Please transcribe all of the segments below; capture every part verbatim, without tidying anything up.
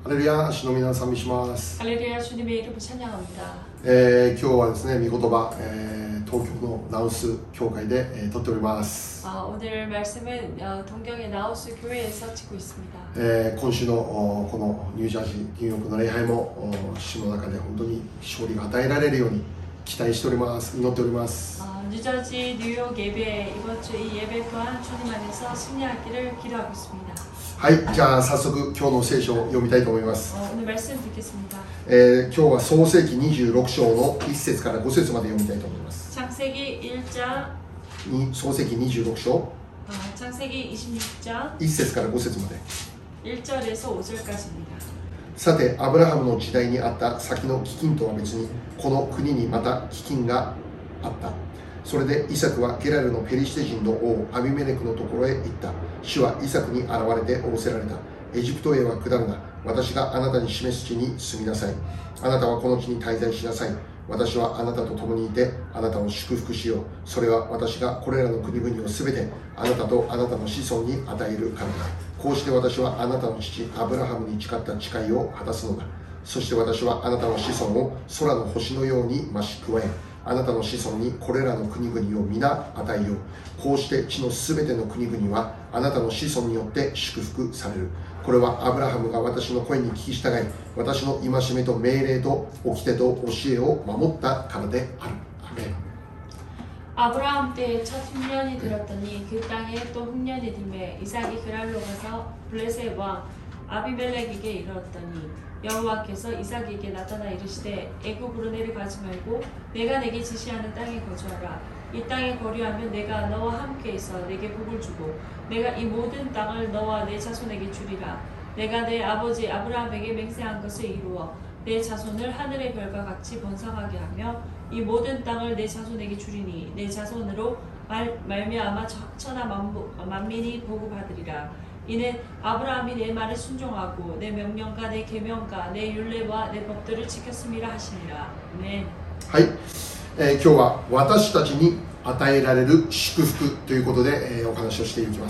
レルヤ、主の皆さん、賛美します。 할렐루야, 주님의 이름을 찬양합니다. えー、今日はですね、御言葉、えー、東京のナウス教会で、えー、撮っております。 아, 오늘 말씀은 어, 동경의 나우스 교회에서 찍고 있습니다. えー、今週のこのニュージャージー、ニューヨークの礼拝も主の中で本当に勝利が与えられるように期待しております。祈っております。 어, 뉴저지 뉴욕 예배, 이번 주 이 예배 또한 주님 안에서 승리하기를 기도하고 있습니다. はい、じゃあ早速今日の聖書を読みたいと思います。 어, 오늘 말씀 듣겠습니다. えー、今日は創世記にじゅうろく章のいち節からご節まで読みたいと思います。 창세기 일 장, に創世記にじゅうろく章 어, 창세기 이십육 장 いち節からご節まで。 일 절에서 오 절까지입니다. さてアブラハムの時代にあった先の飢饉とは別にこの国にまた飢饉があった。それでイサクはゲラルのペリシテ人の王アビメレクのところへ行った。主はイサクに現れて仰せられた。エジプトへは下るな。私があなたに示す地に住みなさい。あなたはこの地に滞在しなさい。私はあなたと共にいてあなたを祝福しよう。それは私がこれらの国々をすべてあなたとあなたの子孫に与えるからだ。こうして私はあなたの父アブラハムに誓った誓いを果たすのだ。そして私はあなたの子孫を空の星のように増し加え、あなたの子孫にこれらの国々を皆与えよう。こうして地のすべての国々はあなたの子孫によって祝福される。これはアブラハムが私の声に聞き従い、私の戒めと命令と掟と教えを守ったからである。アメン。 아브라함 때에 첫 흉년이 들었더니 그 땅에 또 흉년이 들매 이삭이 그랄로 가서 블레셋 왕 아비멜렉에게 이르렀더니 여호와께서 이삭에게 나타나 이르시되 애굽으로 내려가지 말고 내가 내게 지시하는 땅에 거주하라. 이 땅에 거류하면 내가 너와 함께 있어 내게 복을 주고 내가 이 모든 땅을 너와 내 자손에게 주리라. 내가 내 아버지 아브라함에게 맹세한 것을 이루어 내 자손을 하늘의 별과 같이 번성하게 하며 이 모든 땅을 내 자손에게 주리니 내 자손으로 말, 말미암아 천하 만부, 만민이 복을 받으리라. 이는 아브라함이 내 말에 순종하고 내 명령과 내 계명과 내 율례와 내 법들을 지켰음이라 하시니라. 아멘. はい、えー、今日は私たちに与えられる祝福ということで、えー、お話をしていきます。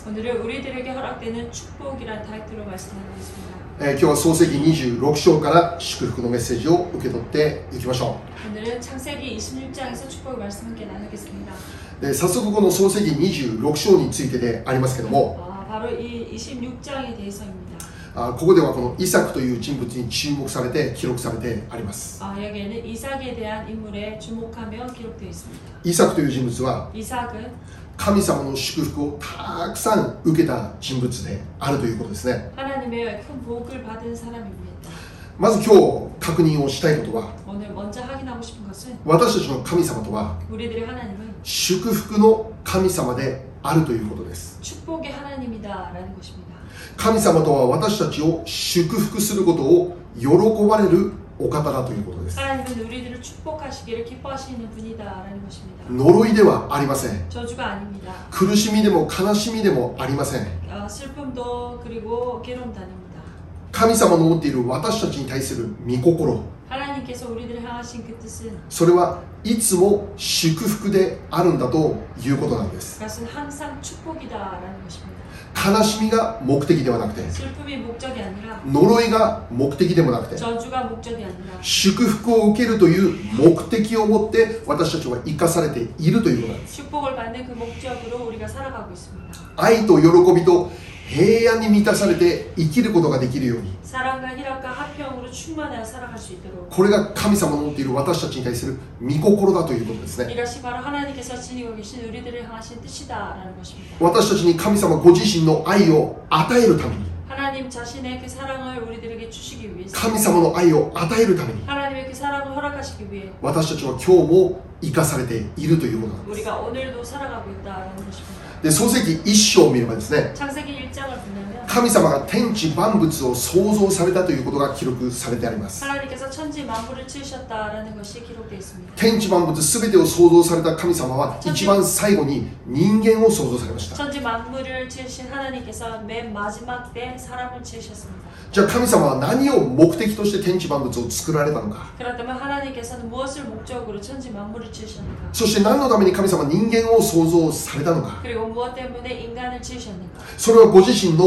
오늘은 우리들에게 허락되는 축복이라는 타이틀로 말씀하겠습니다. えー、今日は創世記にじゅうろく章から祝福のメッセージを受け取っていきましょう。 오늘은 창세기 이십육 장에서 축복의 말씀 함께 나누겠습니다. で早速この創世記にじゅうろく章についてでありますけども、 아, 바로 이 이십육 장에 대해서입니다. あここではこのイサクという人物に注目されて記録されてあります。 아, 여기에는 이삭에 대한 인물에 주목하며 기록되어 있습니다. イサクという人物は 이삭은 神様の祝福をたくさん受けた人物であるということですね。 하나님의 큰 복을 받은 사람입니다. まず今日確認をしたいことは、 오늘 먼저 확인하고 싶은 것은 私たちの神様とは 우리들의 하나님은 祝福の神様であるということです。 축복의 하나님이다라는 것입니다. 神様とは私たちを祝福することを喜ばれるお方だということです。 하나님은 우리들을 축복하시기를 기뻐하시는 분이다라는 것입니다. 呪いではありません。 저주가 아닙니다. 苦しみでも悲しみでもありません。 어, 슬픔도 그리고 괴로움도 아닙니다. 神様の持っている私たちに対する御心、 하나님께서 우리들을 향하신 그 뜻은 それはいつも祝福であるんだということなんです。 그것은 항상 축복이다라는 것입니다. 悲しみが目的ではなくて、 슬픔이 목적이 아니라 呪いが目的でもなくて、 저주가 목적이 아니라 祝福を受けるという目的を持って私たちは生かされているということなんです。 축복을 받는 그 목적으로 우리가 살아가고 있습니다. 愛と喜びと平安に満たされて生きることができるように、 사랑과 희락과 화평으로 충만하여 살아갈 수 있도록 これが神様の持っている私たちに対する御心だということですね。 이것이 바로 하나님께서 지니고 계신 우리들을 향하신 뜻이다라는 것입니다. 私たちに神様ご自身の愛を与えるために、 하나님 자신의 그 사랑을 우리들에게 주시기 위해서 神様の愛を与えるために 하나님의 그 사랑을 허락하시기 위해 私たちは今日も生かされているということなんです。 우리가 오늘도 살아가고 있다라는 것입니다. で創世記一章を見ればですね、 창세기 일 장을 보면 神様が天地万物を創造されたということが記録されてあります。 하나님께서 천지 만물을 지으셨다라는 것이 기록되어 있습니다. 天地万物すべてを創造された神様は一番最後に人間を創造されました。 천지 만물을 지으신 하나님께서 맨 마지막 때 사람을 지으셨습니다. じゃあ神様は何を目的として天地万物を作られたのか、 그렇다면 하나님께서는 무엇을 목적으로 천지 만물을 지으셨는가? そして何のために神様は人間を創造されたのか、 그리고 무엇 때문에 인간을 지으셨는가? それはご自身の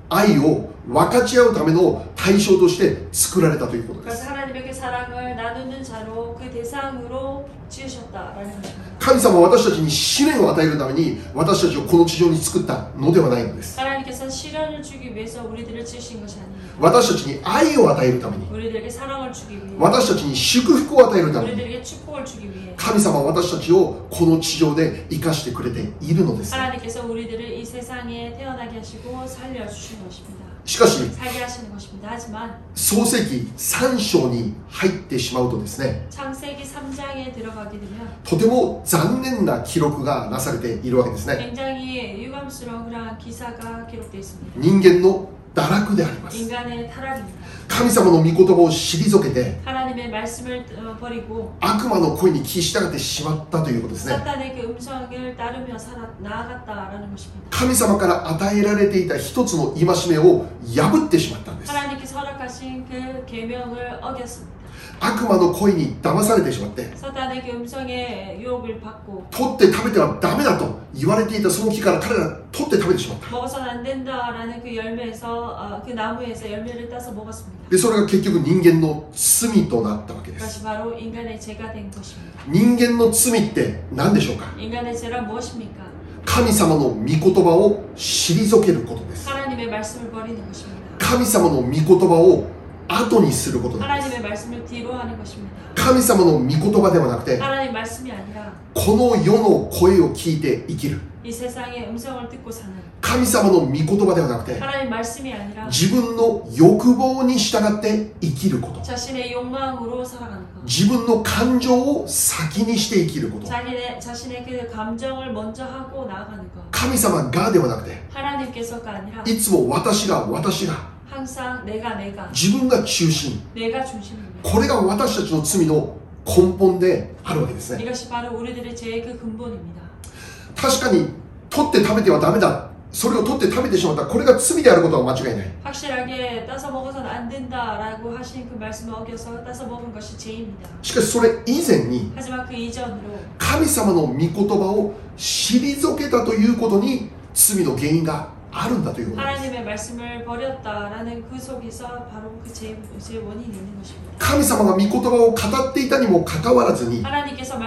愛を分かち合うための対象として作られたということです。 그래서 하나님의 그 사랑을 나누는 자로 그 대상으로 지으셨다라는 것입니다. 神様は私たちに試練を与えるために私たちをこの地上に作ったのではないのです。 하나님께서는 시련을 주기 위해서 우리들을 지으신 것이 아닙니다. 私たちに愛を与えるために 우리들에게 사랑을 주기 위해 私たちに祝福を与えるために 우리들에게 축복을 주기 위해 神様は私たちをこの地上で生かしてくれているのです。 하나님께서 우리들을 이 세상에 태어나게 하시고 살려주신 것입니다. しかし 살게 하시는 것입니다. 하지만 創世記さん章に入ってしまうとですね、 창세기 삼 장에 들어가게 되면 とても残念な記録がなされているわけですね。 굉장히 유감스러운 그러한 기사가 기록되어 있습니다. 人間の堕落であります。 인간의 타락입니다. 神様の御言葉を退けて 하나님의 말씀을 어, 버리고 悪魔の声に聞き従ってしまったということですね。 사탄의 그 음성을 따르며 살아, 나아갔다라는 것입니다. 神様から与えられていた一つの戒めを破ってしまったんです。 하나님께서 허락하신 그 계명을 어겼습니다. 悪魔の声に騙されてしまって 사탄의 그 음성에 유혹을 받고 取って食べてはダメだと言われていたその木から彼ら取って食べてしまった。 먹어서는 안 된다라는 그 열매에서 어, 그 나무에서 열매를 따서 먹었습니다. でそれが結局人間の罪となったわけです。 그것이 바로 인간의 죄가 된 것입니다. 人間の罪って何でしょうか。 인간의 죄란 무엇입니까? 神様の御言葉を退けることです。 하나님의 말씀을 버리는 것입니다. 神様の御言葉を後にすることなんです。 하나님의 말씀을 뒤로 하는 것입니다. 神様の御言葉ではなくて 하나님 말씀이 아니라 この世の声を聞いて生きる。 이 세상의 음성을 듣고 사는 神様の御言葉ではなくて 하나님 말씀이 아니라 自分の欲望に従って生きること。 자신의 욕망으로 살아가는 것. 自分の感情を先にして生きること。 자신의, 자신의 그 감정을 먼저 하고 나아가는 것. 神様がではなくて 하나님께서가 아니라 いつも私が私が 항상 내가 내가 自分が中心。 내가 중심입니다. これが私たちの罪の根本であるわけですね。 이것이 바로 우리들의 죄의 그 근본입니다. 確かに取って食べてはダメだ、それを取って食べてしまった、これが罪であることは間違いない。 확실하게 따서 먹어서는 안 된다라고 하신 그 말씀을 어겨서 따서 먹은 것이 죄입니다. しかしそれ以前に 하지만 그 이전으로 神様の御言葉を退けたということに罪の原因があるんだということです。 하나님의 말씀을 버렸다라는 그 속에서 바로 그 죄, 죄 원인이 있는 것입니다. 神様が御言葉を語っていたにもかかわらずに 하나님께서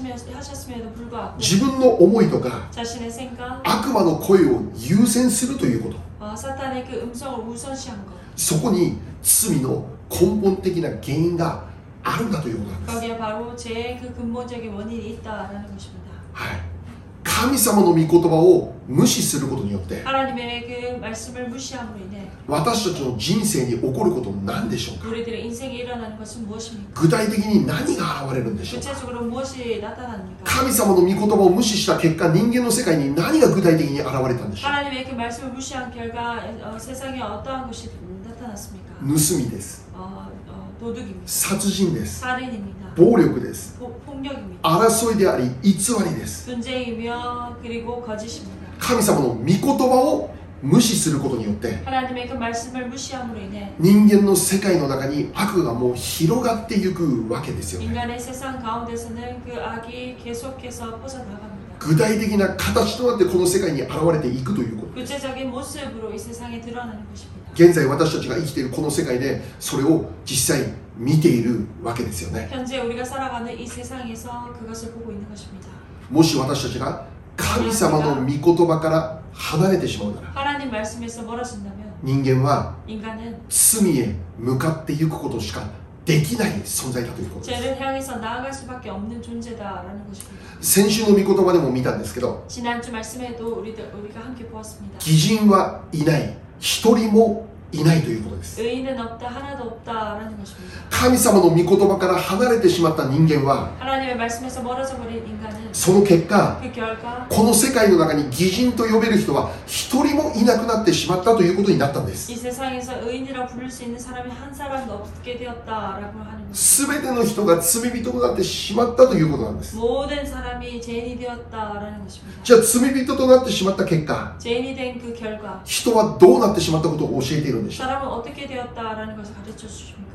말씀하셨음에도 불구하고 自分の思いとか 자신의 생각, 悪魔の声を優先するということ、 어, 사탄의 그 음성을 우선시한 것. そこに罪の根本的な原因があるんだということなんです。 거기에 바로 죄의 그 근본적인 원인이 있다라는 것입니다. はい、神様の御言葉を無視することによって 하나님의 그 말씀을 무시함으로 인해 私たちの人生に起こること何でしょうか。 우리들의 인생에 일어나는 것은 무엇입니까? 具体的に何が現れるんでしょうか。 구체적으로 무엇이 나타납니까? 神様の御言葉を無視した結果、人間の世界に何が具体的に現れたんでしょう。 하나님의 그 말씀을 무시한 결과 어, 세상에 어떠한 것이 나타났습니까? 盗みです。 어, 어, 도둑입니다. 殺人です。 살인입니다. 暴力です。 포, 폭력입니다. 争いであり偽りです。 분쟁이며 그리고 거짓입니다. 神様の御言葉を無視することによって 하나님의 그 말씀을 무시함으로 인해 人間の世界の中に悪がもう広がっていくわけですよね。 인간의 세상 가운데서는 그 악이 계속해서 퍼져나갑니다. 具体的な形となってこの世界に現れていくということ。 구체적인 모습으로 이 세상에 드러나는 것입니다. 現在私たちが生きているこの世界でそれを実際見ているわけですよね。 현재 우리가 살아가는 이 세상에서 그것을 보고 있는 것입니다. もし私たちが神様の御言葉から離れてしまうなら 하나님 말씀에서 멀어진다면 人間は 인간은 罪へ向かっていくことしかできない存在だということです。 죄를 향해서 나아갈 수밖에 없는 존재다라는 것입니다. 先週の御言葉でも見たんですけど 지난주 말씀에도 우리들, 우리가 함께 보았습니다. 義人はいない、一人もいないということです。 의인은 없다, 하나도 없다라는 것입니다. 神様の御言葉から離れてしまった人間は 하나님의 말씀에서 멀어져 버린 인간은 その結果 그 결과 この世界の中に義人と呼べる人は一人もいなくなってしまったということになったんです。 이 세상에서 의인이라 부를 수 있는 사람이 한 사람도 없게 되었다라고 하는 것입니다. 全ての人が罪人となってしまったということなんです。 모든 사람이 죄인이 되었다라는 것입니다. じゃあ罪人となってしまった結果 죄인이 된 그 결과 人はどうなってしまったことを教えているんでしょう。 사람은 어떻게 되었다라는 것을 가르쳐 주십니까?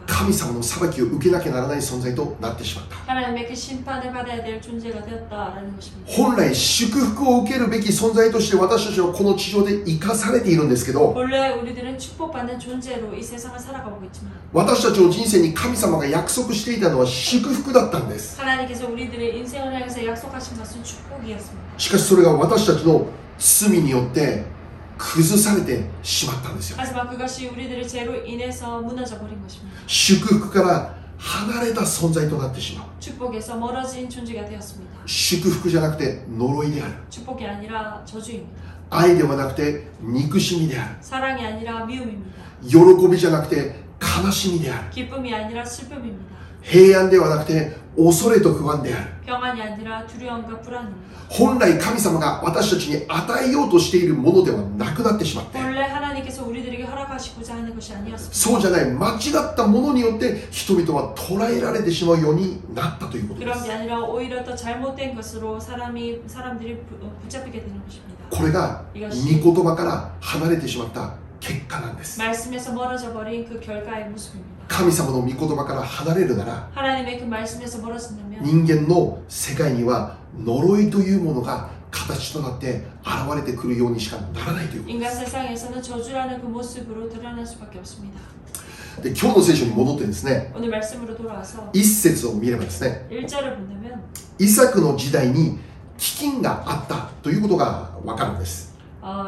神様の裁きを受けなきゃならない存在となってしまった。 하나님의 그 심판을 받아야 될 존재가 되었다라는 것입니다. 本来祝福を受けるべき存在として私たちはこの地上で生かされているんですけど、 원래 우리들은 축복받는 존재로 이 세상을 살아가고 있지만 私たちの人生に神様が約束していたのは祝福だったんです。 하나님께서 우리들의 인생을 향해서 약속하신 것은 축복이었습니다. しかしそれが私たちの罪によって崩されてしまったんですよ。 하지만 그것이 우리들의 죄로 인해서 무너져 버린 것입니다. 祝福から離れた存在となってしまう。 축복에서 멀어진 존재가 되었습니다. 祝福じゃなくて呪いである。 축복이 아니라 저주입니다. 愛ではなくて憎しみである。 사랑이 아니라 미움입니다. 喜びじゃなくて悲しみである。 기쁨이 아니라 슬픔입니다. 平安ではなくて恐れと不安である。 평안이 아니라 두려움과 불안입니다. 本来神様が私たちに与えようとしているものではなくなってしまって、 원래 하나님께서 우리들에게 허락하시고자 하는 것이 아니었습니다. そうじゃない間違ったものによって人々は捉えられてしまうようになったということで 그런 す。 게 아니라 오히려 더 잘못된 것으로 사람이 사람들이 부- 어, 붙잡히게 되는 것입니다. これが御言葉から離れてしまった結果なんです。 말씀에서 멀어져 버린 그 결과의 모습입니다. 神様の御言葉から離れるなら 하나님의 그 말씀에서 멀어진다면 人間の世界には呪いというものが形となって現れてくるようにしかならないということ 인간 세상에서는 저주라는 그 모습으로 드러날 수밖에 없습니다. で、今日の聖書に戻ってですね、 오늘 말씀으로 돌아와서 一節を見ればですね、 일 절을 본다면 イサクの時代に飢饉があったということがわかるんです。 어,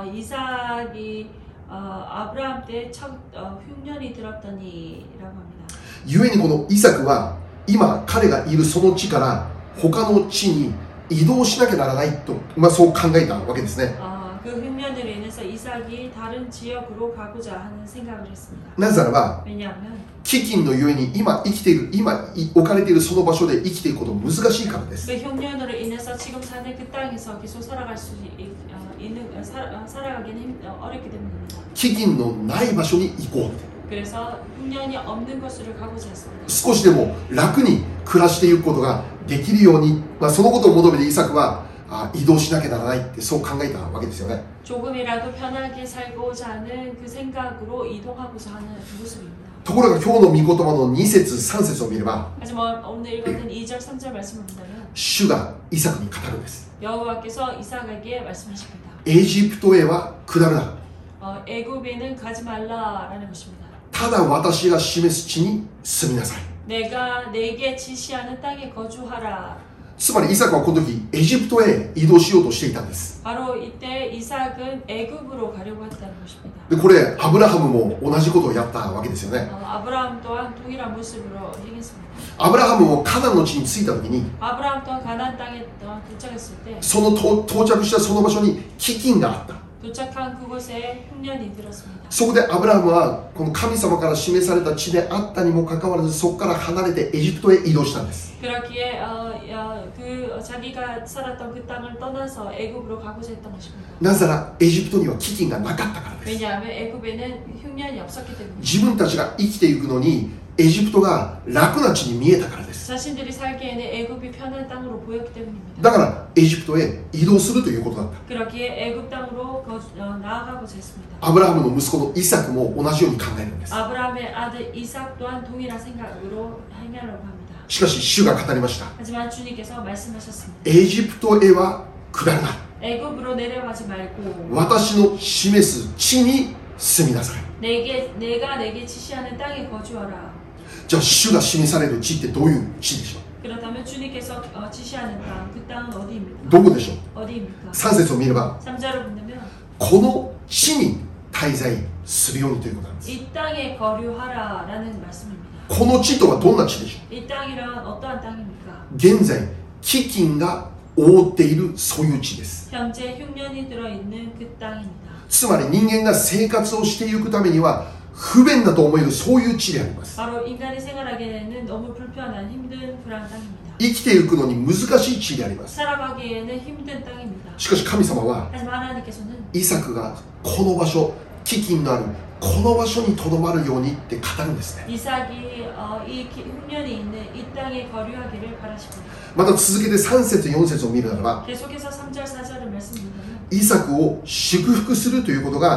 이삭이 어, 아브라함 때 첫 어, 흉년이 들었더니라고 합니다. 故にこのイサクは今彼がいるその地から他の地に移動しなきゃならないと、まあ、そう考えたわけですね。 어, 그 흉년으로 인해서 이삭이 다른 지역으로 가고자 하는 생각을 했습니다. なぜならば 왜냐하면 飢饉のゆえに今生きている今置かれているその場所で生きていくこと難しいからです。 그 흉년으로 인해서 지금 사는 그 땅에서 계속 살아갈 수 있, 어, 있는 어, 살, 어, 살아가기는 힘, 어, 어렵기 때문입니다. 飢饉のない場所に行こうって、 그래서 흉년이 없는 곳으로 가고자 했습니다. 少しでも楽に暮らしていくことができるように、まあ、そのことを求めてイサクはあ移動しなきゃならないってそう考えたわけですよね。 조금이라도 편하게 살고자 하는 그 생각으로 이동하고자 하는 그 모습입니다. ところが今日の御言葉のに節さん節を見れば 하지만 오늘 읽었던 이 절 삼 절 말씀을 본다면 主がイサクに語るんです。 여호와께서 이삭에게 말씀하십니다. エジプトへは下るな、 어, 애굽에는 가지 말라라는 것입니다. ただ私が示す地に住みなさい。 내가 내게 지시하는 땅에 거주하라. つまりイサクはこの時エジプトへ移動しようとしていたんです。 바로 이때 이삭은 애굽으로 가려고 했다는 것입니다. でこれアブラハムも同じことをやったわけですよね。 어, 아브라함 또한 동일한 모습으로 행했습니다. アブラハムもカナンの地に着いた時に 아브라함 또한 가나안 땅에 또한 도착했을 때 そのと到着したその場所に飢饉があった。 도착한 그곳에 흉년이 들었습니다. そこでアブラハムはこの神様から示された地であったにもかかわらずそこから離れてエジプトへ移動したんです。 그렇기에 어, 어, 그 자기가 살았던 그 땅을 떠나서 애굽으로 가고자 했던 것입니다. なぜならエジプトには飢饉がなかったからです。 왜냐하면 애굽에는 흉년이 없었기 때문입니다. 自分たちが生きていくのにエジプトが楽な地に見えたからです。 자신들이 살기에는 애굽이 편한 땅으로 보였기 때문입니다. だからエジプトへ移動するということだった。 그렇기에 애굽 땅으로 거주, 어, 나아가고자 했습니다. アブラハムの息子のイサクも同じように考えるんです。 아브라함의 아들 이삭 또한 동일한 생각으로 행하려고 합니다. しかし主が語りました。 하지만 주님께서 말씀하셨습니다. エジプトへは下るな。 애굽으로 내려가지 말고 私の示す地に住みなさい。 내게 내가 내게 지시하는 땅에 거주하라. じゃあ主が示される地ってどういう地でしょ 그렇다면 주님께서 어, 지시하는 땅, 그 땅은 어디입니까? う。どこでしょう。 어디입니까? さん節を見れば 삼 절을 본다면 この地に滞在するようにということなんです。 이 땅에 거류하라라는 말씀입니다. この地とはどんな地でしょ 이 땅이란 어떠한 땅입니까? う。現在飢饉が覆っているそういう地です。 현재 흉년이 들어있는 그 땅입니다. つまり人間が生活をしていくためには不便だと思えるそういう地であります。 바로 인간이 생활하기에는 너무 불편한 힘든 그런 땅입니다. 生きていくのに難しい地であります。 살아가기에는 힘든 땅입니다. しかし神様は 하지만 하나님께서는 イサクがこの場所飢饉のあるこの場所にとどまるようにって語るんですね。 이삭이 어, 이 기- 흉년이 있는 이 땅에 거류하기를 바라십니다. また続けてさん節よん節を見るならば 계속해서 삼 절 사 절을 말씀드리면 イサクを祝福するということが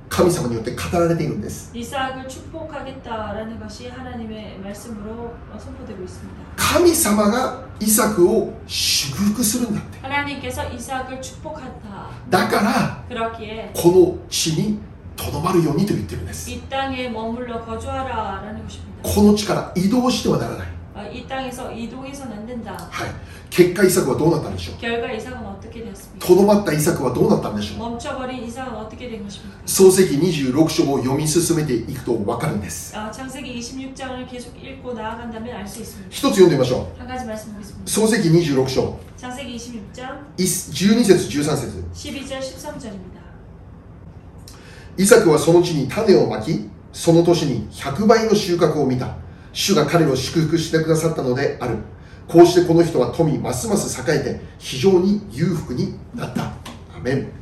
神様によって語られているんです。 이삭을 축복하겠다라는 것이 하나님의 말씀으로 선포되고 있습니다. 神様がイサクを祝福するんだって。 하나님께서 이삭을 축복한다. だから 그렇기에 この地にとどまるようにと言ってるんです。 이 땅에 머물러 거주하라라는 것입니다. この地から移動してはならない。 이 땅에서 이동해서는 안 된다. はい。結果イサクはどうなったんでしょう。 결과 이삭은 어떻게 되었습니까? とどまったイサクはどうなったんでしょう。 멈춰버린 이삭은 어떻게 된 것입니까? 創世記にじゅうろく章を読み進めていくと分かるんです。 아, 창세기 이십육 장을 계속 읽고 나아간다면 알 수 있습니다. 一つ読んでみましょう。 한 가지 말씀 보겠습니다. 創世記にじゅうろく章 창세기 이십육 장 じゅうに節じゅうさん節。 십이 절 십삼 절입니다. イサクはその地に種をまき、その年にひゃくばいの収穫を見た。主が彼を祝福してくださったのである。こうしてこの人は富ますます栄えて非常に裕福になった。アメン。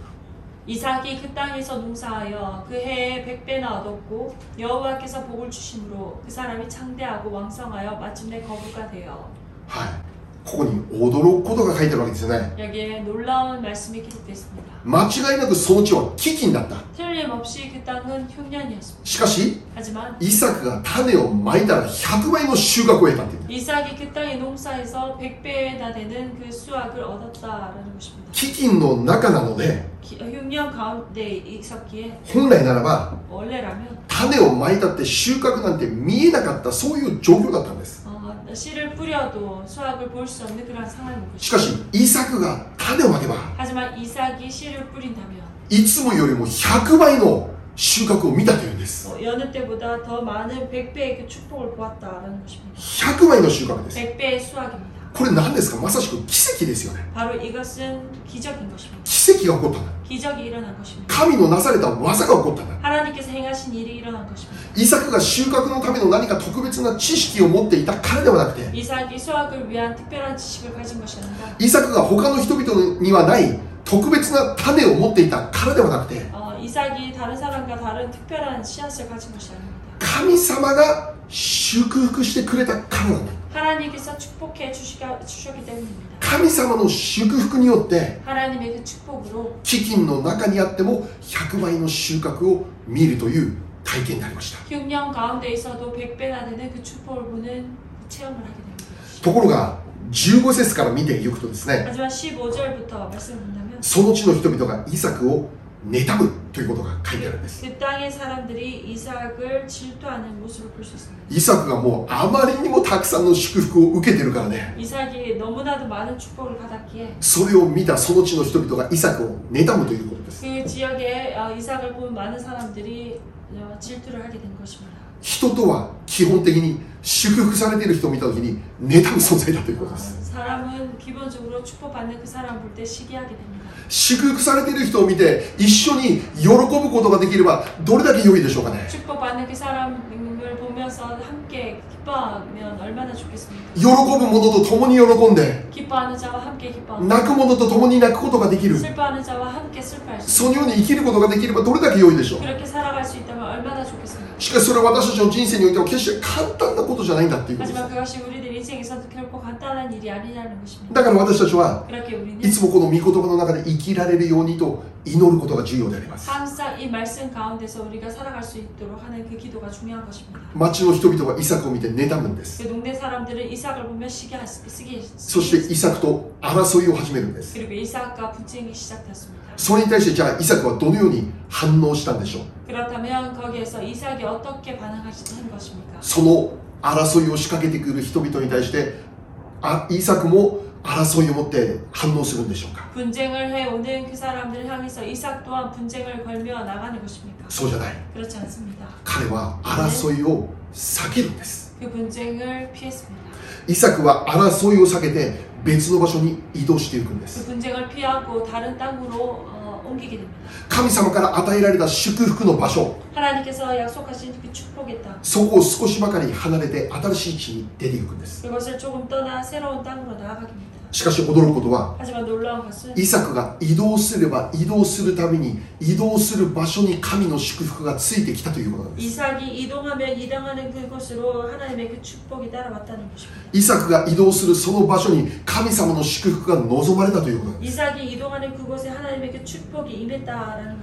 이삭이 그 땅에서 농사하여 그 해에 백배나 얻었고 여호와께서 복을 주심으로 그 사람이 창대하고 왕성하여 마침내 거부가 되어. はい。ここに驚くことが書いてあるわけですよね。 여기에 놀라운 말씀이 기록됐습니다. 間違いなくその地は飢饉だった。 틀림없이 그 땅은 흉년이었습니다. しかし 하지만 イサクが種をまいたらひゃくばいの収穫を得たっていう。 이삭이 그 땅의 농사에서 백배나 되는 그 수확을 얻었다라는 것입니다. 飢饉の中なので 기, 흉년 가운데 있었기에 本来ならば 원래라면 種をまいたって収穫なんて見えなかったそういう状況だったんです。 어, 씨를 뿌려도 수확을 볼 수 없는 그런 상황인 しか 것입니다. しイサクが種をまけば 하지만 이삭이 씨를 뿌린다면 いつもよりもひゃくばいの収穫を見たというんです。 어, 여느 때보다 더 많은 백배의 그 축복을 보았다라는 것입니다. ひゃくばいの収穫です。 백배의 수확입니다. これ何ですか。まさしく奇跡ですよね。 바로 이것은 기적인 것입니다. 奇跡が起こったんだ。 기적이 일어난 것입니다. 神のなされた技が起こったんだ。 하나님께서 행하신 일이 일어난 것입니다. イサクが収穫のための何か特別な知識を持っていたからではなくて、 이삭이 수확을 위한 특별한 지식을 가진 것이 아니라 イサクが他の人々にはない特別な種を持っていたからではなくて、 어, 이삭이 다른 사람과 다른 특별한 씨앗을 가진 것이 아닙니다. 神様が祝福してくれたからなんだ。 하나님께서 축복해 주시가, 주셨기 때문입니다. 神様の祝福によって 하나님의 그 축복으로 飢饉の中にあってもひゃくばいの収穫を見るという体験になりました。 흉년 가운데 있어도 백배나 되는 그 축복을 보는 그 체험을 하게 됩니다. ところがじゅうご節から見ていくとですね、 하지만 십오 절부터 말씀을 본다면 その地の人々がイサクを妬むということが書いてあるんです。 그 땅의 사람들이 이삭을 질투하는 모습을 볼 수 있습니다. イサクがもうあまりにもたくさんの祝福を受けてるからね、 이삭이 너무나도 많은 축복을 받았기에 それを見たその地の人々がイサクを妬むということです。 그 지역에 어, 이삭을 본 많은 사람들이 어, 질투를 하게 된 것입니다. 人とは基本的に祝福されている人を見たときに妬む存在だということです。 어, 사람은 기본적으로 축복받는 그 사람 볼 때 시기하게 됩니다. 祝福されている人を見て一緒に喜ぶことができればどれだけ良いでしょうかね。 축복받는 그 사람을 보면서 함께 기뻐하면 얼마나 좋겠습니까? 喜ぶ者と共に喜んで 기뻐하는 자와 함께 기뻐하고 泣く者と共に泣くことができる、 슬퍼하는 자와 함께 슬퍼할 수 そのように生きることができればどれだけ良いでしょう。 그렇게 살아갈 수 있다면 얼마나 좋겠습니까? しかしそれは私たちの人生においては決して簡単なことじゃないんだっていうことです。 하지만 그것이 우리들 인생에서도 결코 간단한 일이 아니라는 것입니다. だから私たちは 그렇게 い 우리는 つもこの御言葉の中で生きられるようにと祈ることが重要であります。 항상 이 말씀 가운데서 우리가 살아갈 수 있도록 하는 그 기도가 중요한 것입니다. 町の人々はイサクを見て妬むんです。 그 동네 사람들은 이삭을 보면 시기 쓰기 そしてイサクと争いを始めるんです。 그리고 이삭과 분쟁이 시작됐습니다. それに対してじゃあイサクはどのように反応したんでしょう。 그렇다면 거기에서 이삭이 어떻게 반응하신 것입니까? その争いを仕掛けてくる人々に対してあイサクも争いを持って反応するんでしょうか。 분쟁을 해오는 그 사람들을 향해서 이삭 또한 분쟁을 걸며 나가는 것입니까? そうじゃない。 그렇지 않습니다. 彼は争いを避けるんです。 그 분쟁을 피했습니다. イサクは争いを避けて別の場所に移動していくんで 그 す。 분쟁을 피하고 다른 땅으로 어, 옮기게 됩니다. 神様から与えられた祝福の場所、 하나님께서 약속하신 그 축복의 땅, そこを少しばかり離れて新しい地に出ていくんです。 그것을 조금 떠나 새로운 땅으로 나아가게 됩니다. しかし驚くことは 하지만 놀라운 것은 イサクが移動すれば移動するために移動する場所に神の祝福がついてきたということなんです。 이삭이 이동하면 이동하는 그곳으로 하나님의 그 축복이 따라왔다는 것입니다. イサクが移動するその場所に神様の祝福が望まれたということなんです。 이삭이 이동하는 그곳에 하나님의 그 축복이 임했다라는 것입니다.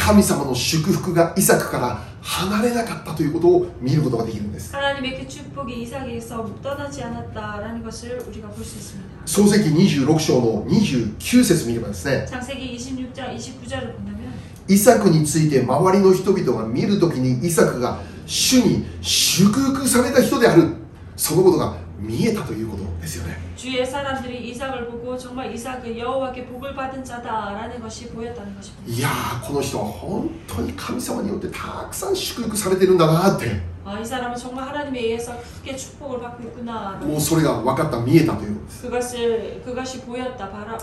神様の祝福がイサクから離れなかったということを見ることができるんです。 하나님의 그 축복이 이삭에게서 떠나지 않았다라는 것을 우리가 볼 수 있습니다. 創世記にじゅうろく章のにじゅうきゅう節見ればですね、 창세기 이십육 장 이십구 절을 본다면 イサクについて周りの人々が見るときにイサクが主に祝福された人である、そのことが見えたということですよね。 주의 사람들이 이삭을 보고 정말 이삭은 여호와께 복을 받은 자다라는 것이 보였다는 것입니다. いやー、この人は本当に神様によってたくさん祝福されてるんだなって、 아, 이 사람은 정말 하나님에 의해서 크게 축복을 받고 있구나. もうそれが分かった、見えたということです。 그것을 그것이 보였다, 바로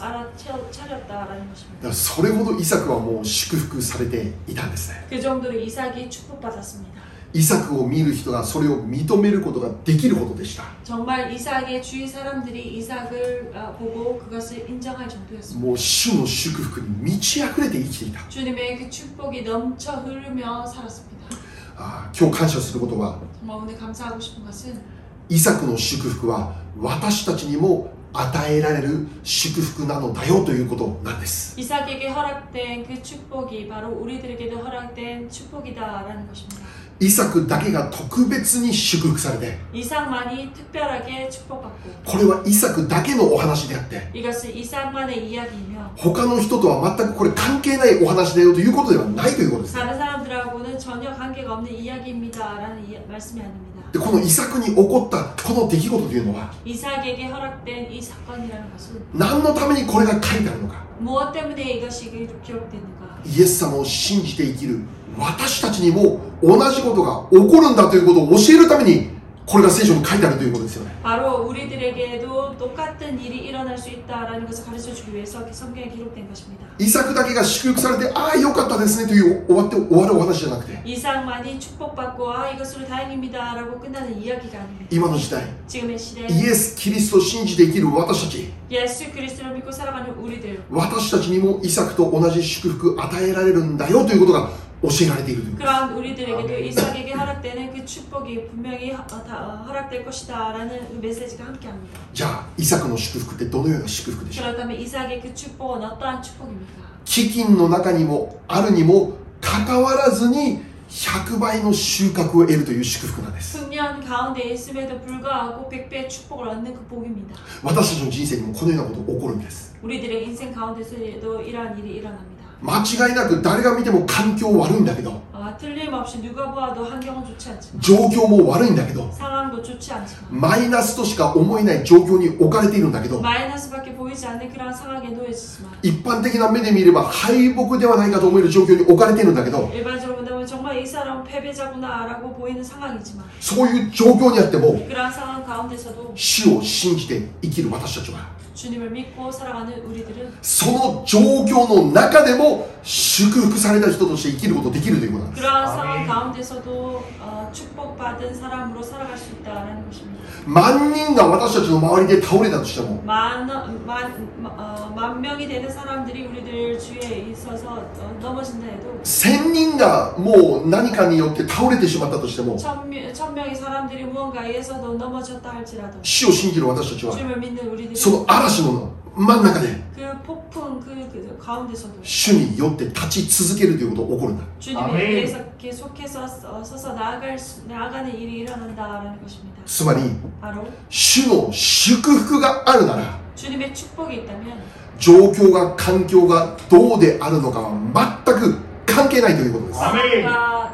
알아차렸다라는 것입니다. だからそれほどイサクはもう祝福されていたんですね。 그 정도로 이삭이 축복받았습니다. イサクを見る人がそれを認めることができるほどでした。 정말 이삭의 주위 사람들이 이삭을 보고 그것을 인정할 정도였습니다. もう主の祝福に満ち溢れて生きていた。 주님의 그 축복이 넘쳐 흐르며 살았습니다. あー、今日感謝することは、 정말 오늘 감사하고 싶은 것은 イサクの祝福は私たちにも与えられる祝福なのだよということなんです。 이삭에게 허락된 그 축복이 바로 우리들에게도 허락된 축복이다라는 것입니다. イサクだけが特別に祝福されて、 이삭만이 특별하게 축복받고 これはイサクだけのお話であって、 이것은 이삭만의 이야기이며 他の人とは全くこれ関係ないお話だよということではないということです。 다른 사람들하고는 전혀 관계가 없는 이야기입니다라는 이, 말씀이 아닙니다. でこのイサクに起こったこの出来事というのは 이삭에게 허락된 이 사건이라는 것은 何のためにこれが書いてあるのか、 무엇 때문에 이것이 기록됐는가? イエス様を信じて生きる私たちにも同じことが起こるんだということを教えるためにこれが聖書に書いてあるということですよね。 바로 우리들에게도 똑같은 일이 일어날 수 있다라는 것을 가르쳐주기 위해서 성경에 기록된 것입니다. イサクだけが祝福されて、ああよかったですねという終わって終わるお話じゃなくて、 이삭만이 축복받고 아 이것으로 다행입니다라고 끝나는 이야기가 아닙니다. 今の時代 지금의 시대에 イエス・キリストを信じて生きる私たち、 예수 그리스도를 믿고 살아가는 우리들, 私たちにもイサクと同じ祝福与えられるんだよということが教えられているということです。 그러한 우리들에게도 이삭에게 허락되는 그 축복이 분명히 허, 다, 허락될 것이다라는 메시지가 함께합니다. じゃあイサクの祝福ってどのような祝福でしょう。 그렇다면 이삭의 그 축복은 어떠한 축복입니까? 飢饉の中にもあるにもかかわらずにひゃくばいの収穫を得るという祝福なんです。 흑년 가운데 있음에도 불구하고 백 배의 축복을 얻는 그 복입니다. 私たちの人生にもこのようなことが起こるんです。 우리들의 인생 가운데서도 이러한 일이 일어납니다. 間違いなく誰が見ても環境悪いんだけど、 아, 틀림없이 누가 보아도 환경은 좋지 않지만 状況も悪いんだけど、 상황도 좋지 않지만 マイナスとしか思えない状況に置かれているんだけど、 마이너스밖에 보이지 않는 그러한 상황에 놓여있지만 一般的な目で見れば敗北ではないかと思える状況に置かれているんだけど、 일반적으로 본다면 정말 이 사람은 패배자구나 라고 보이는 상황이지만 そういう状況にあっても 그러한 상황 가운데서도 主を信じて生きる私たちは 주님을 믿고 살아가는 우리들은 その状況の中でも祝福された人として生きることができるということなんです。 그러한 상황 가운데서도 어, 축복받은 사람으로 살아갈 수 있다는 것입니다. 万人が私たちの周りで倒れたとしても 만, 만, 어, 만 명이 되는 사람들이 우리들 주위에 있어서 어, 넘어진다 해도 千人がもう何かによって倒れてしまったとしても 천, 천 명의 사람들이 무언가에 의해서도 넘어졌다 할지라도 主を信じる私たちは 주님을 믿는 우리들이 その嵐の真ん中で 그 폭풍 그, 그 가운데서도 主によって立ち続けるということが起こるんだ。 주님에 의해서 계속해서 서서 나아갈 수, 나아가는 일이 일어난다라는 것입니다. つまり 바로 主の祝福があるなら 주님의 축복이 있다면 状況が環境がどうであるのかは全く関係ないということです。 상황과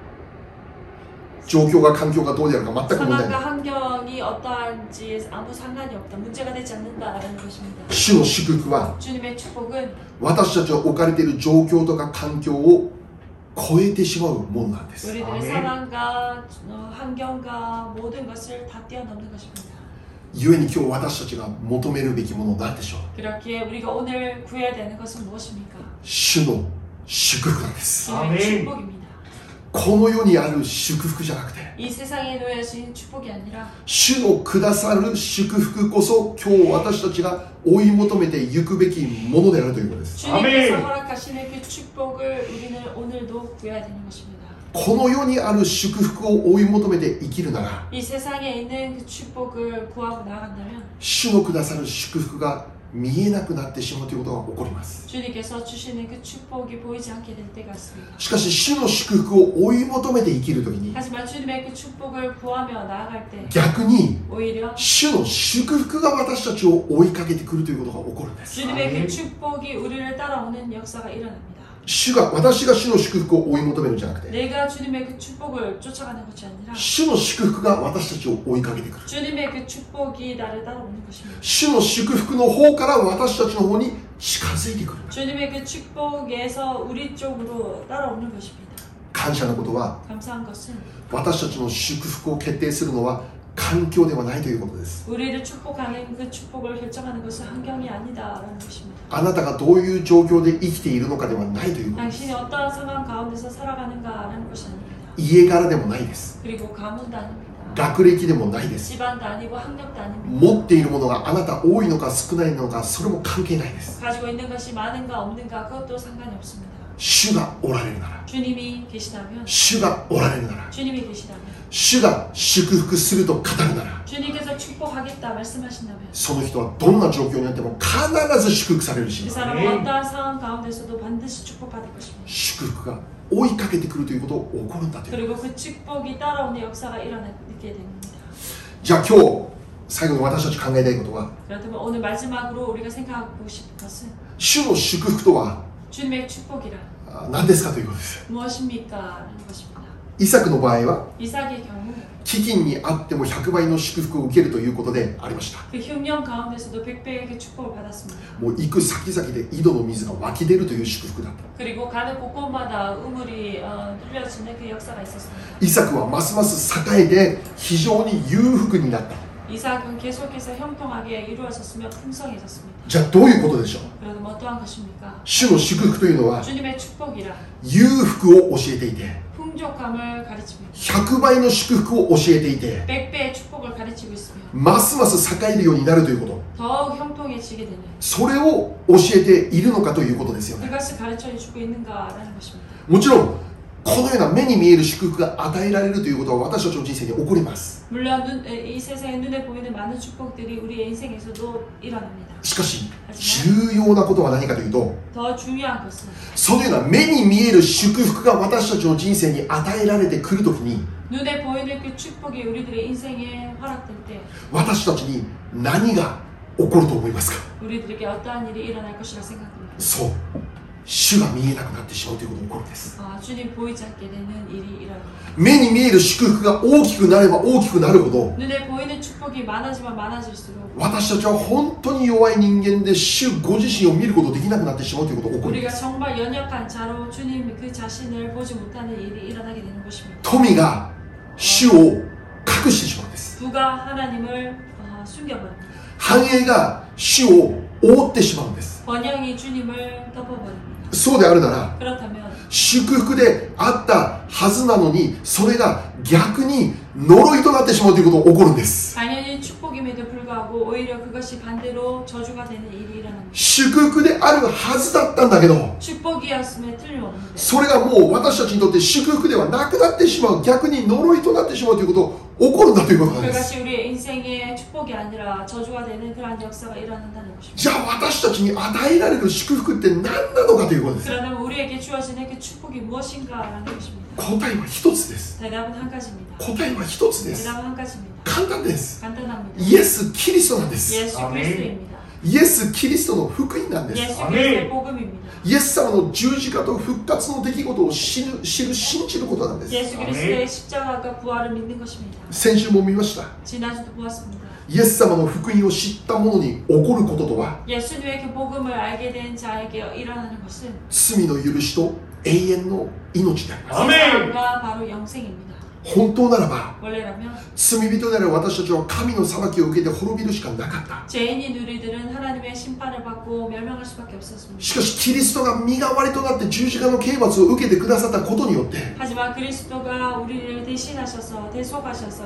状況が環境がどうであるか全く問題ない。 상황과 환경이 어떠한지 아무 상관이 없다. 문제가 되지 않는다라는 것입니다. 主の祝福は 주님의 축복은 私たちが置かれている状況とか環境を超えてしまうものなんです。 우리들의 상황과 어, 환경과 모든 것을 다 뛰어넘는 것입니다. 故に今日私たちが求めるべきものは何でしょう。 그렇기에 우리가 오늘 구해야 되는 것은 무엇입니까? 主の祝福なんです。 주님의 축복입니다. この世にある祝福じゃなくて 이 세상에 놓여진 축복이 아니라 主のくださる祝福こそ今日私たちが追い求めていくべきものであるということです。 주님께서 허락하시는 그 축복을 우리는 오늘도 구해야 되는 것입니다. この世にある祝福を追い求めて生きるなら 이 세상에 있는 그 축복을 구하고 나아간다면 主のくださる祝福が見えなくなってしまうということが起こります。 주님께서 주시는 그 축복이 보이지 않게 될 때가 있습니다. しかし主の祝福を追い求めて生きるときに 하지만 주님의 그 축복을 구하며 나아갈 때 逆に 오히려 主の祝福が私たちを追いかけてくるということが起こるんです。 주님의 그 축복이 우리를 따라오는 역사가 일어납니다. 主が私が主の祝福を追い求めるんじゃなくて 내가 주님의 그 축복을 쫓아가는 것이 아니라 主の祝福が私たちを追いかけてくる。 주님의 그 축복이 나를 따라오는 것입니다. 主の祝福の方から私たちの方に近づいてくる。 주님의 그 축복에서 우리 쪽으로 따라오는 것입니다. 感謝のことは 감사한 것은 私たちの祝福を決定するのは環境ではないということです。 우리를 축복하는 그 축복을 결정하는 것은 환경이 아니다라는 것입니다. あなたがどういう状況で生きているのかではないということです。 당신이 어떠한 상황 가운데서 살아가는가라는 것이 아닙니다. 家柄でもないです。 그리고 가문도 아닙니다. 学歴でもないです。 집안도 아니고 학력도 아닙니다. 持っているものがあなた多いのか少ないのかそれも関係ないです。 가지고 있는 것이 많은가 없는가 그것도 상관이 없습니다. 主がおられるなら 주님이 계시다면 主がおられるなら 주님이 계시다면 主が祝福すると語るなら 주님께서 축복하겠다 말씀하신다면 その人はどんな状況にあっても必ず祝福されるし 그 사람은 어떠한 상황 가운데서도 반드시 축복받을 것입니다. 祝福が追いかけてくるということを起こるんだという。 그리고 그 축복이 따라오는 역사가 일어나게 됩니다. じゃあ今日最後に私たち考えたいことは 그렇다면 오늘 마지막으로 우리가 생각하고 싶은 것은 主の祝福とは 주님의 축복이란 あ何ですかということです。 무엇입니까? 라는 것입니다. イサクの場合は 이삭의 경우 飢饉にあってもひゃくばいの祝福を受けるということでありました。 그 흉년 가운데서도 백배의 그 축복을 받았습니다. もう行く先々で井戸の水が湧き出るという祝福だった。 그리고 가는 곳곳마다 우물이 어, 흘려지는 그 역사가 있었습니다. イサクはますます栄えて非常に裕福になった。 이삭은 계속해서 형통하게 이루어졌으며 풍성해졌습니다. じゃあどういうことでしょう。 그래도 뭐 어떠한 것입니까? 主の祝福というのは 주님의 축복이란 裕福を教えていて 풍족함을 가르칩니다. ひゃくばいの祝福を教えていて 백배의 축복을 가르치고 있으며 ますます栄えるようになるということ、 더욱 형통해지게 되는 それを教えているのかということですよね。 그것을 가르쳐주고 있는가라는 것입니다. もちろんこのような目に見える祝福が与えられるということは私たちの人生に起こります。 물론 눈, 이 세상의 눈에 보이는 많은 축복들이 우리의 인생에서도 일어납니다. しかし重要なことは何かというと 더 중요한 것은 そのような目に見える祝福が私たちの人生に与えられてくるときに 눈에 보이는 그 축복이 우리들의 인생에 허락될 때 私たちに何が起こると思いますか。 우리들에게 어떠한 일이 일어날 것이라 생각합니다. そう主が見えなくなってしまうということが起こるんです。 아, 주님 보이지 않게 되는 일이 일어납니다. 目に見える祝福が大きくなれば大きくなるほど 눈에 보이는 축복이 많아지면 많아질수록 私たちは本当に弱い人間で主ご自身を見ることができなくなってしまうということが起こるんで 우리가 す。 정말 연약한 자로 주님 그 자신을 보지 못하는 일이 일어나게 되는 것입니다. 富が主を隠してしまうんです。 부가 하나님을 어, 숨겨버립니다. 繁栄が主を覆ってしまうんです。 번영이 주님을 덮어버립니다. そうであるなら 그렇다면 祝福であったはずなのにそれが逆に呪いとなってしまうということが起こるんです。 당연히 축복임에도 불구하고 오히려 그것이 반대로 저주가 되는 일이 일어납니다. 祝福であるはずだったんだけど 축복이었음에 틀림없는데 それがもう私たちにとって祝福ではなくなってしまう、逆に呪いとなってしまうということが起こるんだということなんです。 그것이 우리의 인생의 축복이 아니라 저주가 되는 그러한 역사가 일어난다는 것입니다. じゃあ私たちに与えられる祝福って何なのかということです。 그러면 우리에게 주어지는 그 축복이 무엇인가라는 것입니다. 答えは一つです。 대답은 한 가지입니다. 答えは一つです。 대답은 한 가지입니다. 簡単です。 간단합니다. イエス・キリストなんです。 예수 그리스도입니다. イエス・キリストの福音なんです。 예수 그리스도의 복음입니다. イエス様の十字架と復活の出来事を知る、知る、信じることなんです。 예수 그리스도의 십자가가 부활을 믿는 것입니다. 先週も見ました。 지난주도 보았습니다. イエス様の福音を知った者に起こることとは 예수님의 그 복음을 알게 된 자에게 일어나는 것은 罪の許しと永遠の命であります。 세상과 바로 영생입니다. 本当ならば 원래라면 罪人である私たちは神の裁きを受けて滅びるしかなかった。 죄인인 우리들은 하나님의 심판을 받고 멸망할 수밖에 없었습니다. しかしキリストが身代わりとなって十字架の刑罰を受けてくださったことによって 하지만 그리스도가 우리를 대신하셔서 대속하셔서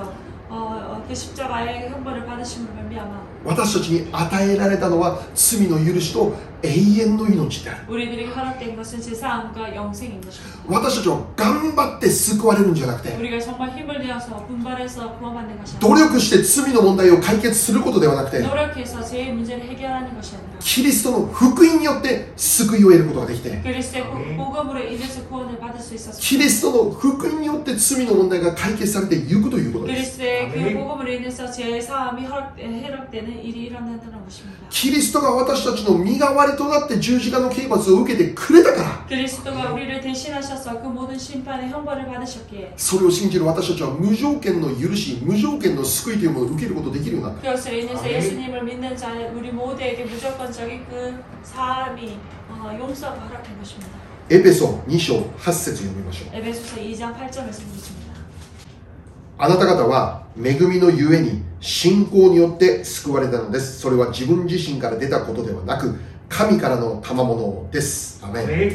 어, 어, 그 십자가의 형벌을 받으심으로 말미암아 私たちに与えられたのは罪の許しと永遠の命である。 우리들에게 허락된 것은 제사함과 영생인 것입니다. 私たちは頑張って救われるんじゃなくて、 우리가 정말 힘을 내어서 분발해서 구원받는 것이 努 아니라 力して罪の問題を解決することではなくて、 노력해서 죄의 문제를 해결하는 것이 아니라 キリストの福音によって救いを得ることができて、 그리스도의 복음으로 인해서 구원을 받을 수 있었습니다. キリストの福音によって罪の問題が解決されていくということです。 그리스도의 그 복음으로 인해서 죄의 사함이 허락, 해락되는 일이 일어난다는 것입니다. キリストが私たちの身代わりとなって十字架の刑罰を受けてくれたから、 그리스도가 우리를 대신하셔서 그 모든 심판의 형벌을 받으셨기에 それを信じる私たちは無条件の許し、無条件の救いというものを受けることができるようになった。 그것으로 인해서 예수님을 믿는 자 우리 모두에게 무조건적인 그 사함이 어, 용서가 허락된 것입니다. エペソに章はち節読みましょう。 에베소서 이 장 팔 절에서 보겠습니다. あなた方は恵みのゆえに信仰によって救われたのです。それは自分自身から出たことではなく、神からの賜物です。アメン。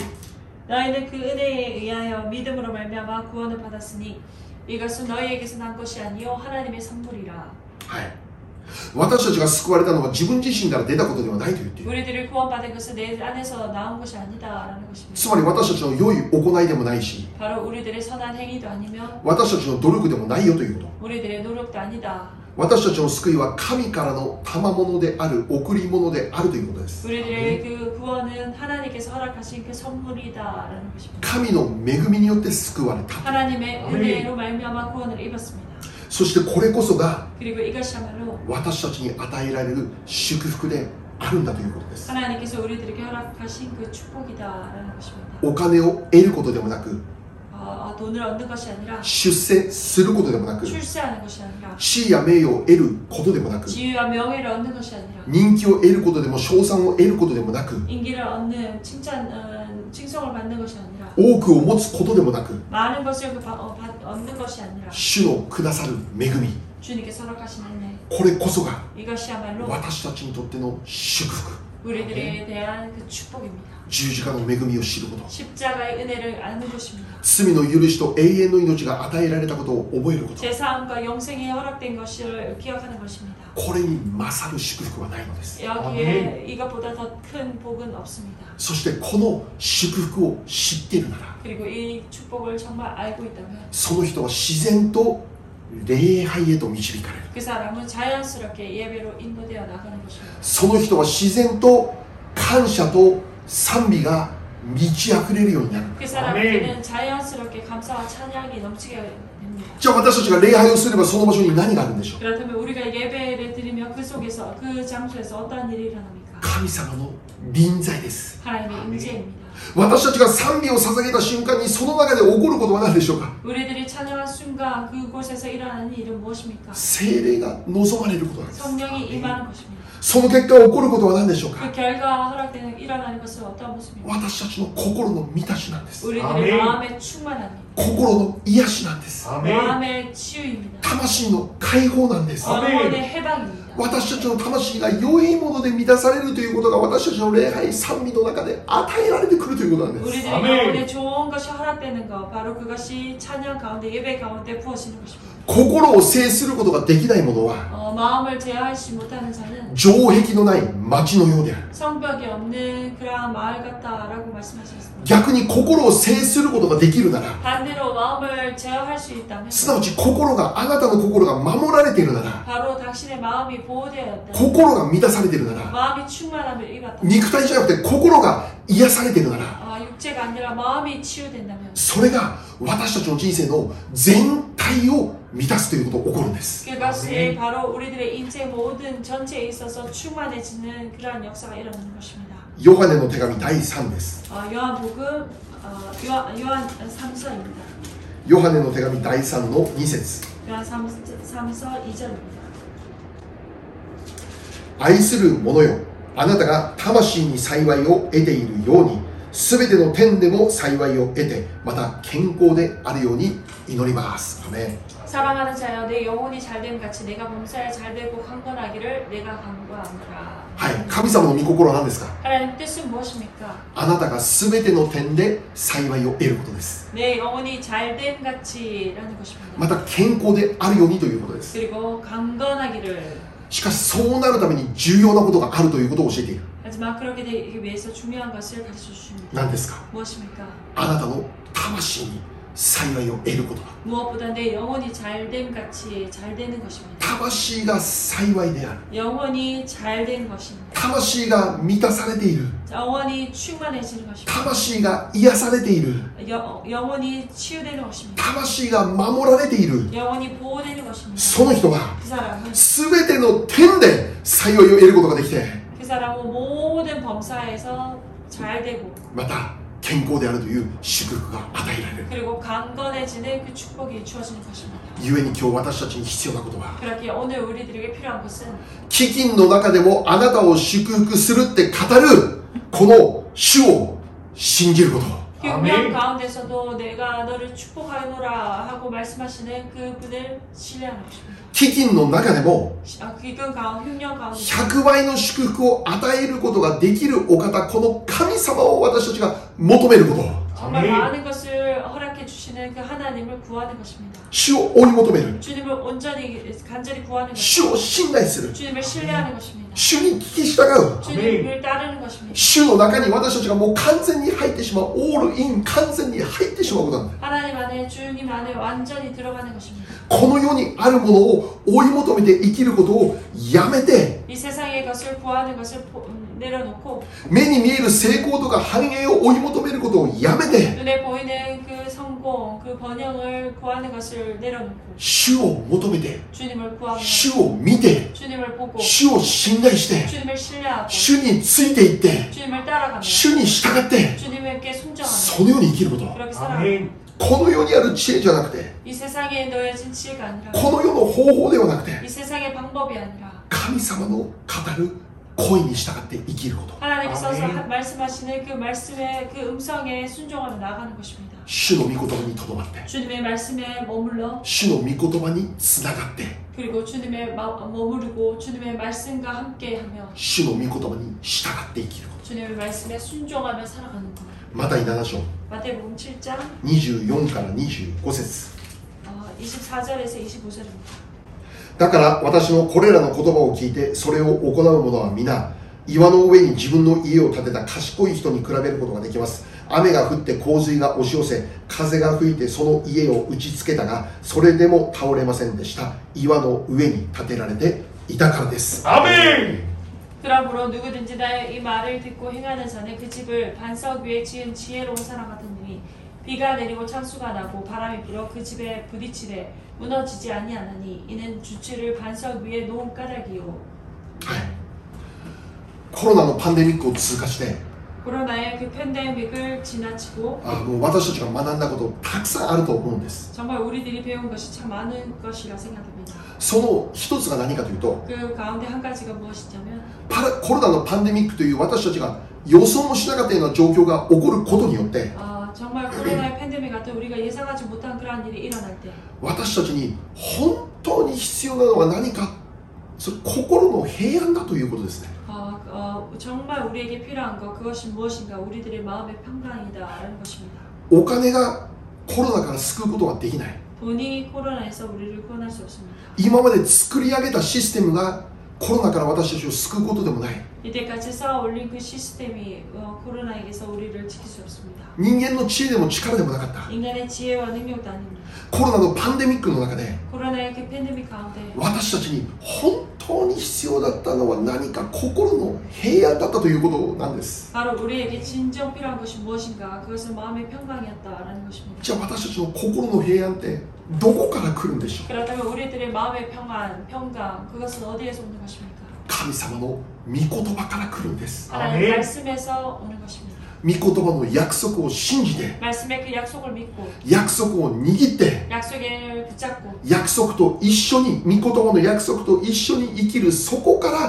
너희는 그 은혜에 의하여 믿음으로 말미암아 구원을 받았으니 이것은 너희에게서 난 것이 아니요 하나님의 선물이라. はい。私たちが救われたのは自分自身から出たことではないと言っている。 우리들이 구원받은 것은 내 안에서 나온 것이 아니다라는 것입니다. つまり私たちの良い行いでもないし、 바로 우리들의 선한 행위도 아니며 私たちの努力でもないよということ。 우리들의 노력도 아니다. 私たちの救いは神からの賜物である、贈り物であるということです。 우리들의 그 구원은 하나님께서 허락하신 그 선물이다라는 것입니다. 神の恵みによって救われた。 하나님의 은혜로 말미암아 구원을 입었습니다. そしてこれこそが 그리고 이것이야말로 私たちに与えられる祝福であるんだということです。 하나님께서 우리들에게 허락하신 그 축복이다라는 것입니다. お金を得ることでもなく、 어, 어, 돈을 얻는 것이 아니라 出世することでもなく、 출세하는 것이 아니라 地位や名誉を得ることでもなく、 지위와 명예를 얻는 것이 아니라 人気を得ることでも称賛を得ることでもなく、 인기를 얻는 칭찬, 어, 칭송을 받는 것이 아니라 多くを持つことでもなく、 많은 것을 그 바, 어, 받, 얻는 것이 아니라 主のくださる恵み、 주님께서 허락하신 은혜 これこそが 이것이야말로 私たちにとっての祝福、 우리들에 대한 그 축복입니다. 十字架の恵みを知ること、 십자가의 은혜를 아는 것입니다. 罪の許しと永遠の命が与えられたことを覚えること、 제사함과 영생이 허락된 것을 기억하는 것입니다. これに勝る祝福はないのです。 여기에 이것보다 더 큰 복은 없습니다. そしてこの祝福を知っているなら、 그리고 이 축복을 정말 알고 있다면 その人は自然と礼拝へと導かれる。 그 사람은 자연스럽게 예배로 인도되어 나가는 것입니다. その人は自然と感謝と賛美が満ち溢れるようになる。 그 사람에게는 자연스럽게 감사와 찬양이 넘치게 됩니다. じゃあ私たちが礼拝をすればその場所に何があるんでしょう。 그렇다면 우리가 예배를 드리며 그 속에서 그 장소에서 어떠한 일이 일어납니까? 神様の臨在です。 하나님의 임재입니다. 私たちが賛美を捧げた瞬間にその中で起こることは何でしょうか。 우리들이 찬양한 순간 그곳에서 일어나는 일은 무엇입니까? 聖霊が望まれることなんです。 성령이 임하는 것입니다. その結果起こることは何でしょうか。 그 결과 허락되는 일어나는 것은 어떤 모습입니까? 私たちの心の満たしなんです。 우리들의 마음의 충만함입니다. 心の癒しなんです。 마음의 치유입니다. 魂の解放なんです。 영혼의 해방입니다. 私たちの魂が良いもので満たされるということが私たちの礼拝賛美の中で与えられてくるということなんです。 우리들의 영혼에 좋은 것이 허락되는 것, 바로 그것이 찬양 가운데 예배 가운데 부어지는 것입니다. 心を制することができない者は 어, 마음을 제어하지 못하는 자는 城壁のない町のようである。 성벽이 없는 그러한 마을 같다라고 말씀하셨습니다. 逆に心を制することができるなら、 반대로 마음을 제어할 수 있다면 すなわち心が、あなたの心が守られているなら、 바로 당신의 마음이 보호되었다. 心が満たされているなら、 마음이 충만함을 입었다. 肉体じゃなくて心が癒されているなら、 아, 육체가 아니라 마음이 치유된다면 それが私たちの人生の全体を満たすということが起こるんです。 그것이 바로 우리들의 인생 모든 전체에 있어서 충만해지는 그러한 역사가 일어나는 것입니다. ヨハネの手紙だいさんです。 어, 요한복음 어, 요한, 요한 삼 서입니다. ヨハネの手紙だいさんのに節。 요한 삼 서 이 절입니다. 愛する者よ、あなたが魂に幸いを得ているように、 すべての点でも幸いを得て、また健康であるように祈ります。アメン。 사랑하는 자여, 내 영혼이 잘됨 같이 내가 범사에 잘되고 강건하기를 내가 간구하노라. はい、神様の御心は何ですか？ 하나님 뜻은 무엇입니까? あなたがすべての点で幸いを得ることです。 내 영혼이 잘됨 같이라는 것입니다. また健康であるようにということです。 그리고 강건하기를. しかしそうなるために重要なことがあるということを教えている。 하지만 그렇게 되기 위해서 중요한 것을 가르쳐 주십니다. 何ですか？ 무엇입니까? あなたの魂に幸いを得ることだ。 무엇보다 내 영혼이 잘됨 같이 잘 되는 것입니다. 魂が幸いである。 영혼이 잘된 것입니다. 魂が満たされている。 영혼이 충만해지는 것입니다. 魂が癒されている。 여, 영혼이 치유되는 것입니다. 魂が守られている。 영혼이 보호되는 것입니다. その人は 그 사람은 すべての点で幸いを得ることができて、 그 사람은 모든 범사에서 잘 되고 また健康であるという祝福が与えられる。 그리고 강건해지는 그 축복이 주어지는 것입니다. 故に今日私たちに必要なことは、 그렇게 오늘 우리들에게 필요한 것은 飢饉の中でもあなたを祝福するって語るこの主を信じること。 흉년 가운데서도 내가 너를 축복하노라 하고 말씀하시는 그분을 신뢰하는 것입니다. 飢饉の中でも 아, 기근 가운 흉년 가운데 ひゃくばいの祝福を与えることができるお方、この神様を私たちが求めること。 정말 많은 것을 허락해 주시는 그 하나님을 구하는 것입니다. 主を追い求める。 주님을 온전히 간절히 구하는 主 것입니다. を信頼する。 주님을 신뢰하는 것입니다. 主に聞き従う。 주님을 따르는 것입니다. 主の中に私たちがもう完全に入ってしまう。オールイン、完全に入ってしまうことなんだ。 하나님 안에 주님 안에 완전히 들어가는 것입니다. この世にあるものを追い求めて生きることをやめて、 이 세상의 것을 구하는 것을 포, 음, 내려놓고 目に見える成功とか繁栄を追い求めることをやめて、 눈에 보이는 그 성공, 그 번영을 구하는 것을 내려놓고 主を求めて、 주님을 구하며 主を見て、 주님을 보고 主を信頼して、 주님을 신뢰하고 主についていって、 주님을 따라가며 主に従って、 주님께 순종하며 そのように生きること。 그렇게 살아가고 この世にある知恵じゃなくて、 이 세상에 놓여진 지혜가 아니라 この世の方法ではなくて、 이 세상의 방법이 아니라 神様の語る声に従って生きること。 하나님께서 하- 말씀하시는 그 말씀의 그 음성에 순종하며 나가는 것입니다. 主の御言葉にとどまって、 주님의 말씀에 머물러 主の御言葉につながって、 그리고 주님의 마, 머무르고 주님의 말씀과 함께하며 主の御言葉に従って生きること。 주님의 말씀에 순종하며 살아가는 것. マタイなな章 마태복음 칠 장 にじゅうよんからにじゅうご節。 어, 이십사 절에서 이십오 절입니다. だから私のこれらの言葉を聞いてそれを行う者は皆岩の上に自分の家を建てた賢い人に比べることができます。雨が降って洪水が押し寄せ、風が吹いてその家を打ちつけたが、それでも倒れませんでした。岩の上に建てられていたからです。 アメン。 그러므로 누구든지 나의 이 말을 듣고 행하는 자는 그 집을 반석 위에 지은 지혜로운 사람 같으니 비가 내리고 창수가 나고 바람이 불어 그 집에 부딪히되 무너지지 아니하나니 이는 주치를 반석 위에 놓은 까닭이요. はい、コロナのパンデミックを通過して、 코로나의 그 팬데믹을 지나치고 あもう私たちが学んだことたくさんあると思うんです。 정말 우리들이 배운 것이 참 많은 것이라 생각합니다. その一つが何かというと、 그 가운데 한 가지가 무엇이냐면 パラコロナのパンデミックという私たちが予想もしなかったような状況が起こることによって、 어, 정말 코로나의 팬데믹 같은 우리가 예상하지 못한 그러한 일이 일어날 때 私たちに本当に必要なのは何か、それ心の平安だということですね。 어, 어, 정말 우리에게 필요한 것 그것이 무엇인가 우리들의 마음의 평강이다라는 것입니다. お金がコロナから救うことはできない。 돈이 코로나에서 우리를 구원할 수 없습니다. 今まで作り上げたシステムがコロナから私たちを救うことでもない。 이때까지 쌓아 올린 그 시스템이 어, 코로나에게서 우리를 지킬 수 없습니다. 人間の知恵でも力でもなかった。 인간의 지혜와 능력도 아닙니다. コロナのパンデミックの中で 코로나의 그 팬데믹 가운데 私たちに本当に必要だったのは何か、心の平安だったということなんです。 바로 우리에게 진정 필요한 것이 무엇인가 그것은 마음의 평강이었다라는 것입니다. じゃあ私たちの心の平安ってどこから来るんでしょう。 그렇다면 우리들의 마음의 평안, 평강 그것은 어디에서 오는 것입니까? 神様の御言葉から来るんです。 하나님 말씀에서 오는 것입니다. 御言葉の約束を信じて、 말씀의 그 약속을 믿고 約束を握って、 약속을 붙잡고 約束と一緒に、御言葉の約束と一緒に生きる、そこから来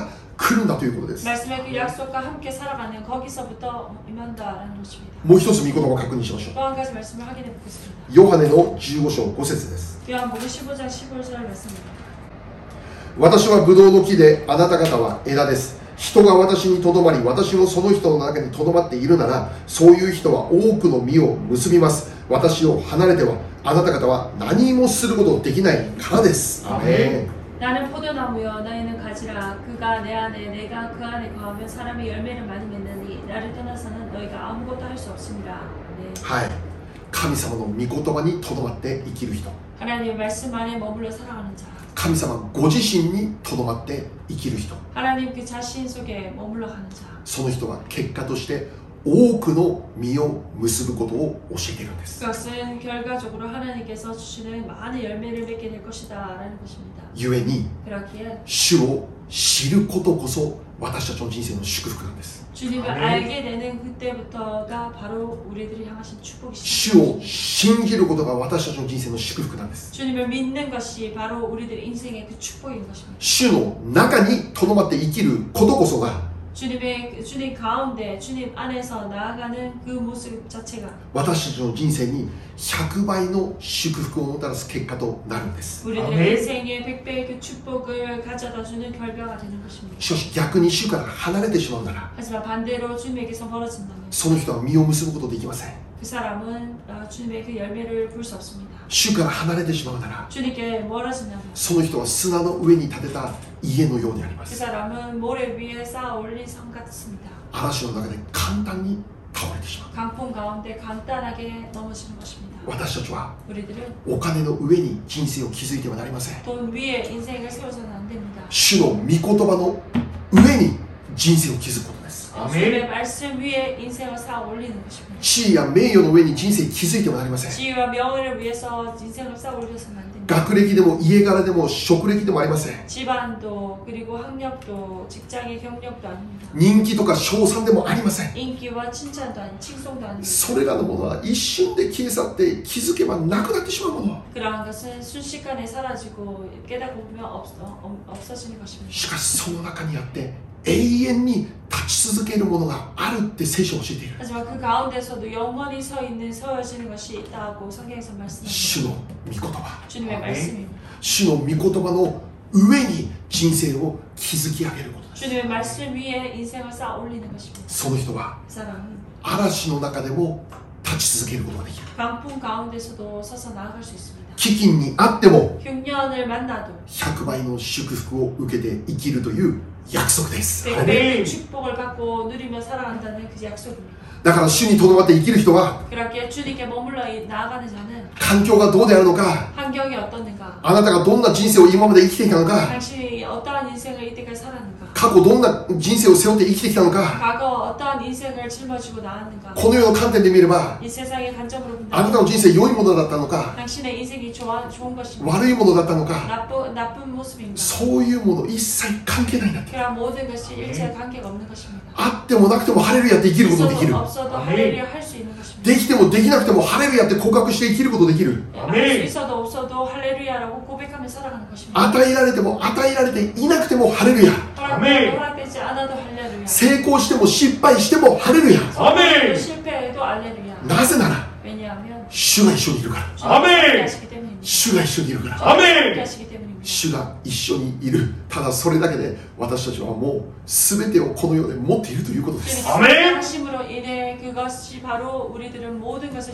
来るんだということです。 말씀의 그 약속과 함께 살아가는 거기서부터 임한다라는 것입니다. もう一つ御言葉を確認しましょ 또 한 가지 말씀을 확인해 보겠습니다. う。ヨハネのじゅうご章ご節です。 요한복음 십오 장 십오 절 말씀입니다. 私はブドウの木で、あなた方は枝です。人が私にとどまり、私もその人の中にとどまっているなら、そういう人は多くの実を結びます。私を離れては、あなた方は何もすることできないからです。アメン。 나는 포도나무여 너희는 가지라. 그가 내 안에 내가 그 안에 거하면 사람이 열매를 많이 맺느니 나를 떠나서는 너희가 아무것도 할 수 없습니다. 네. はい。神様の御言葉にとどまって生きる人。 하나님의 말씀 안에 머물러 살아가는 자. 神様ご自身にとどまって生きる人。 하나님 그 자신 속에 머물러 가는 자. その人は結果として多くの実を結ぶことを教えているんです。 그것은 결과적으로 하나님께서 주시는 많은 열매를 맺게 될 것이다 라는 것입니다. 故に 그렇기에 主を知ることこそ私たちの人生の祝福なんです。 주님을 알게 되는 그때부터가 바로 우리들이 향하신 축복이 主を 시작됩니다. 信じることが私たちの人生の祝福なんです。 주님을 믿는 것이 바로 우리들 인생의 그 축복인 것입니다. 主の中にとどまって生きることこそが 주님의 주님 가운데 주님 안에서 나아가는 그 모습 자체가 私たちの人生にひゃくばいの祝福をもたらす結果となるんです。 우리들의 인생에 백 배의 그 축복을 가져다주는 결과가 되는 것입니다. しかし逆に主から離れてしまうなら 하지만 반대로 주님에게서 멀어진다면 その人は実を結ぶことできません。 그 사람은 어, 주님의 그 열매를 볼 수 없습니다. 主から離れてしまうなら 주님께 멀어진다면 その人は砂の上に建てた家のようにありま 그 す。 사람은 모래 위에 쌓아 올린 성 같습니다. 嵐の中で簡単に倒れてしまう。 강풍 가운데 간단하게 넘어지는 것입니다. 私たちは 우리들은 お金の上に人生を築いてはなりません。 돈 위에 인생을 세워서는 안 됩니다. 主の御言葉の上に人生を築くことです。 주님의 말씀 위에 인생을 쌓아 올리는 것입니다. 地位や名誉の上に人生を築いてはなりません。 지위와 명예를 위해서 인생을 쌓아 올려서는 안 됩니다. 学歴でも家柄でも職歴でもありません。 집안도 그리고 학력도 직장의 경력도 아닙니다. 人気とか称賛でもありません。 인기와 칭찬도 아닌 칭송도 아닙니다. それらのものは一瞬で消え去って気づけばなくなってしまうもの。 그러한 것은 순식간에 사라지고 깨닫고 보면 없, 어, 없어지는 것입니다. しかしその中にあって永遠に立ち続けるものがあるって聖書を教えている。 하지만 그 가운데서도 영원히 서 있는 서여지는 것이 있다고 성경에서 말씀합니다. 主の御言葉、 주님의 말씀입니다. 主の御言葉の上に人生を築き上げることです。 주님의 말씀 위에 인생을 쌓아 올리는 것입니다. その人は 그 사람은 嵐の中でも立ち続けることができる。 강풍 가운데서도 서서 나아갈 수 있습니다. 飢饉にあっても 흉년을 만나도 ひゃくばいの祝福を受けて生きるという約束です。 백 배의 축복을 갖고 누리며 살아간다는 그 약속입니다. だから主にとどまって生きる人は 그렇게 주님께 머물러 나아가는 자는 環境がどうであるのか、 환경이 어떻는가, あなたがどんな人生を今まで生きてきたのか、 당신이 어떠한 인생을 이때까지 살았는가, 過去どんな人生を背負って生きてきたのか、 과거 어떠한 인생을 짊어지고 나왔는가, この世の観点で見れば 이 세상의 관점으로 あなた 본다면 の人生良いものだったのか 당신의 인생이 좋아, 좋은 것인가, 悪いものだったのか、 나쁜, 나쁜 모습인가, そういうもの一切関係ないんだって。 그런 모든 것이 일체 관계가 없는 것입니다. あってもなくてもハレルヤって生きることができる。 있어도 없어도 할렐루야 할 수 있는 것입니다. できてもできなくてもハレルヤって告白して生きることができる。 할 수 있어도 없어도 할렐루야라고 고백하며 살아가는 것입니다. 与えられても与えられていなくてもハレルヤ。 허락되- 허락되지 않아도 할렐루야. 成功しても失敗してもハレルヤ。 성공해도 실패해도 할렐루야. なぜなら 왜냐하면 主が一緒にいるから。 주님이 하시기 때문입니다. 主が一緒にいるから。 함께 하시기 때문입니다. 主が一緒にいる。ただそれだけで私たちはもう全てをこの世で持っているということです。 주님의 하심으로 인해 그것이 바로 우리들은 모든 것을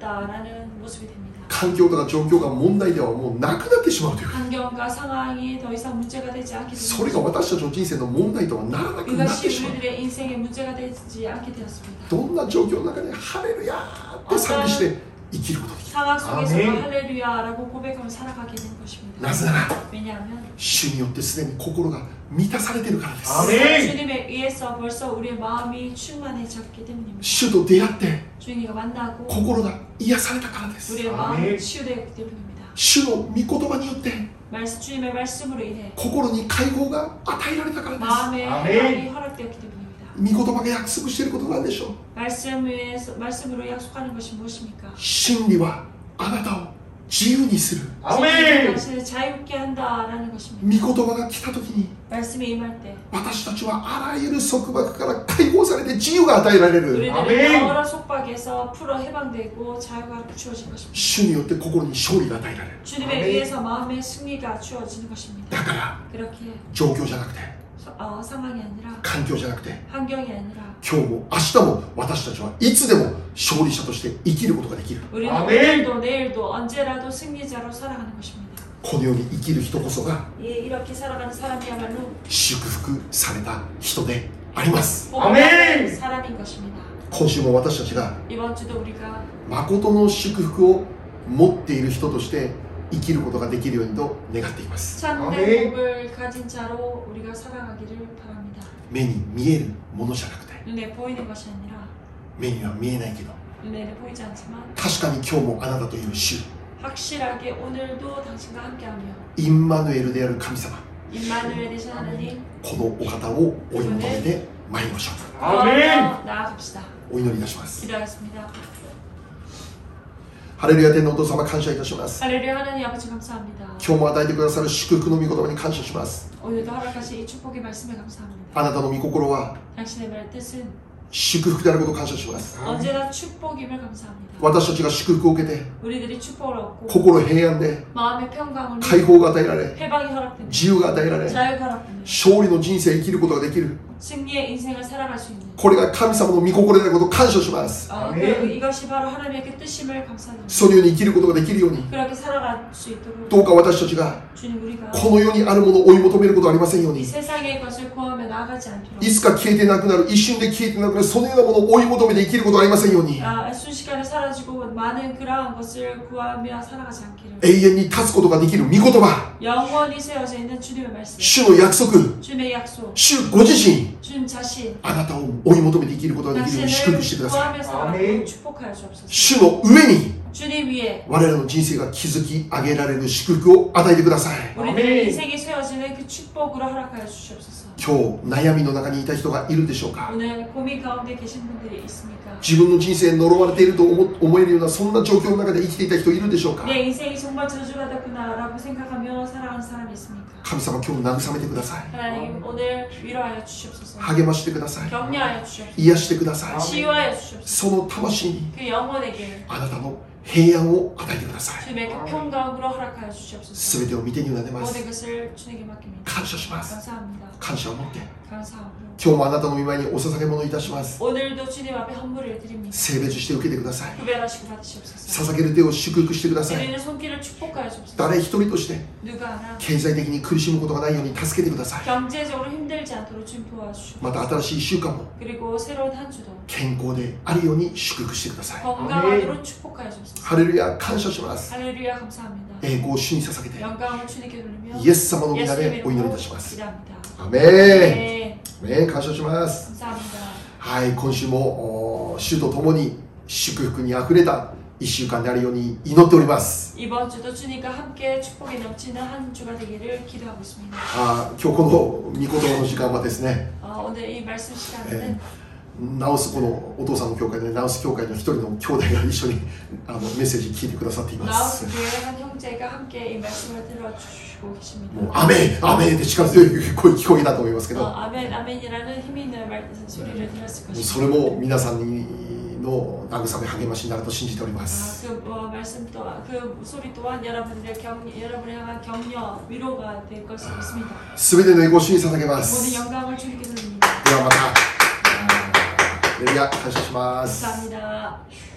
지녔다라는 모습이 됩니다. 環境とか状況が問題ではもうなくなってしまうという。 환경과 상황이 더 이상 문제가 되지 않게 それが 됩니다. 私たちの人生の問題とはならなくなって 이것이 しまう。 우리들의 인생의 문제가 되지 않게 되었습니다. どんな状況の中でハレルヤって賛美して生きることができる。 상황 속에서 아멘. 할렐루야라고 고백하며 살아가게 되는 것입니다. なぜなら 왜냐하면 主によってすでに心が満たされているからです。 아멘. 주님에 의해서 벌써 우리의 마음이 충만해졌기 때문입니다. 主と出会って 주님과 만나고 心が癒されたからです。 우리의 아멘. 마음이 치유되었기 때문입니다. 主の御言葉によって 말씀, 주님의 말씀으로 인해 心に解放が与えられたからで 마음의 아멘. 해방이 허락되었기 때문입니다. す。御言葉が約束していることなんでしょう。 말씀에서, 말씀으로 약속하는 것이 무엇입니까? 真理はあなたを自由にする。 아멘. 당신을 자유케 한다라는 것입니다. 御言葉が来た時に 말씀이 임할 때 私たちはあらゆる束縛から解放されて自由が与えられる。 우리들은 아멘. 여러 속박에서 풀어 해방되고 자유가 주어질 것입니다. 主によって心に勝利が与えられる。 주님에 아멘. 의해서 마음의 승리가 주어지는 것입니다. だから 그렇게 状況じゃなくて 서- 어, 상황이 아니라 環境じゃなくて 환경이 아니라 今日も明日も私たちはいつでも勝利者として生きることができる。 우리는 아멘. 오늘도 내일도 언제라도 승리자로 살아가는 것입니다. このように生きる人こそが 예, 이렇게 살아가는 사람이야말로 祝福された人であります。 복받은 사람인 것입니다. 今週も私たちが 이번 주도 우리가 誠の祝福を持っている人として生きることができるようにと願っています。 참된 아멘. 복을 가진 자로 우리가 살아가기를 바랍니다. 目に見えるものじゃなくて 눈에 보이는 것이 아니라 目には見えないけど 눈에는 보이지 않지만 確かに今日もあなたという主 확실하게 오늘도 당신과 함께하며 インマヌエルである神様 임마누엘 되신 하나님 このお方をお祈りで参りましょ 아멘. 구하며 나아갑시다. う。お祈りいたします。 기도하겠습니다. ハレルヤ天のお父様感謝いたします。 할렐루야 하나님 아버지 감사합니다. 今日も与えてくださる祝福の御言葉に感謝します。 오늘도 허락하신 이 축복의 말씀에 감사합니다. あなたの御心は 당신의 말 뜻은 祝福であることを感謝します。 언제나 축복임을 감사합니다. 私たちが祝福を受けて 우리들이 축복을 얻고 心平安で 마음의 평강을 解放が与えられ 해방이 허락됩니다. 自由が与えられ 자유가 허락됩니다. 勝利の人生を生きることができる。 승리의 인생을 살아갈 수 있는 これが神様の御心であることを感謝します。 어, 그, 아멘. 이것이 바로 하나님의 그 뜻임을 감사합니다. そのように生きることができるように 그렇게 살아갈 수 있도록 どうか私たちが 주님 우리가 この世にあるものを追い求めることはありませんよう 이 に 세상의 것을 구하며 나아가지 않도록 いつか消えてなくなる一瞬で消えてなくなるそのようなものを追い求めて生きることはありませんように 아, 순식간에 사라지고 많은 그러한 것을 구하며 살아가지 않기를 永遠に立つことができる御言葉 영원히 세워져 있는 주님의 말씀 主の約束 주님의 약속 主ご自身 주님 자신 あなたを追い求めて生きることができるように祝 당신을 福してください 구하며 살아가고 아멘. 축복하여 주옵소서 主の上に 주님 위에 我らの人生が築き上げられる祝福を与えてください 우리들의 아멘. 인생이 세워지는 그 축복으로 허락하여 주시옵소서 今日悩みの中にいた人がいるでしょうか 오늘 고민 가운데 계신 분들이 있습니까? 自分の人生に呪われていると思思えるようなそんな状況の中で生きていた人いるでしょうか 내 인생이 정말 저주받았구나 라고 생각하며 살아가는 사람이 있습니까? 神様今日慰めてください 하나님 오늘 위로하여 주시옵소서 励ましてください 격려하여 주시옵소서 癒してください 치유하여 주시옵소서 その魂に 그 영혼에게 あなたの平安を与えてください 주님의 그 평강으로 허락하여 주시옵소서 全てを見てに委ねます 모든 것을 주님께 맡깁니다 感謝します 감사합니다 感謝を持って 감사하고 今日もあなたの御前にお捧げ物いたします 오늘도 주님 앞에 헌물을 드립니다 聖別して受けてください 구별하시고 받으시옵소서 捧げる手を祝福してください 드리는 손길을 축복하여 주옵소서 誰一人として 누가 하나 経済的に苦しむことがないように助けてください 경제적으로 힘들지 않도록 주님 도와주시옵소서 また新しいいっしゅうかんも 그리고 새로운 한 주도 健康であるように祝福してください 건강하도록 축복하여 주옵소서 ハレルヤ感謝します 할렐루야 감사합니다 栄光を主に捧げて 영광을 주님께 돌리며 イエス様の皆 예수 でお祈りい 이름으로 たします 기도합니다 アメン 네 アメン感謝します 감사합니다 はい今週もお主と共に祝福にあふれたいっしゅうかんであるように祈っております 이번 주도 주님과 함께 축복이 넘치는 한 주가 되기를 기도하고 있습니다 あ今日この御言葉の時間はですね 어, 오늘 이 말씀 시간에는 えナオスこのお父さんの教会でナオス教会の一人の兄弟が一緒にあのメッセージ聞いてくださっていま 나우스 す 교회 한 형제가 함께 이 말씀을 들어주시고 계십니다 もうアメンアメンって力強い声聞こえたと思いますけ 어, ど 아멘 아멘이라는 힘이 있는 말, 소리를 들었을 そ 것입니다 れも皆さんの慰め励ましになると信じておりま 아, す 그 어, 말씀 또한 그 소리 또한 여러분들의 경 여러분을 향한 격려 위로가 될 것을 믿습니다 全ての栄光を主に捧げま 모든 す 영광을 주님께 돌립니다 ではまたあレビア感謝します 감사합니다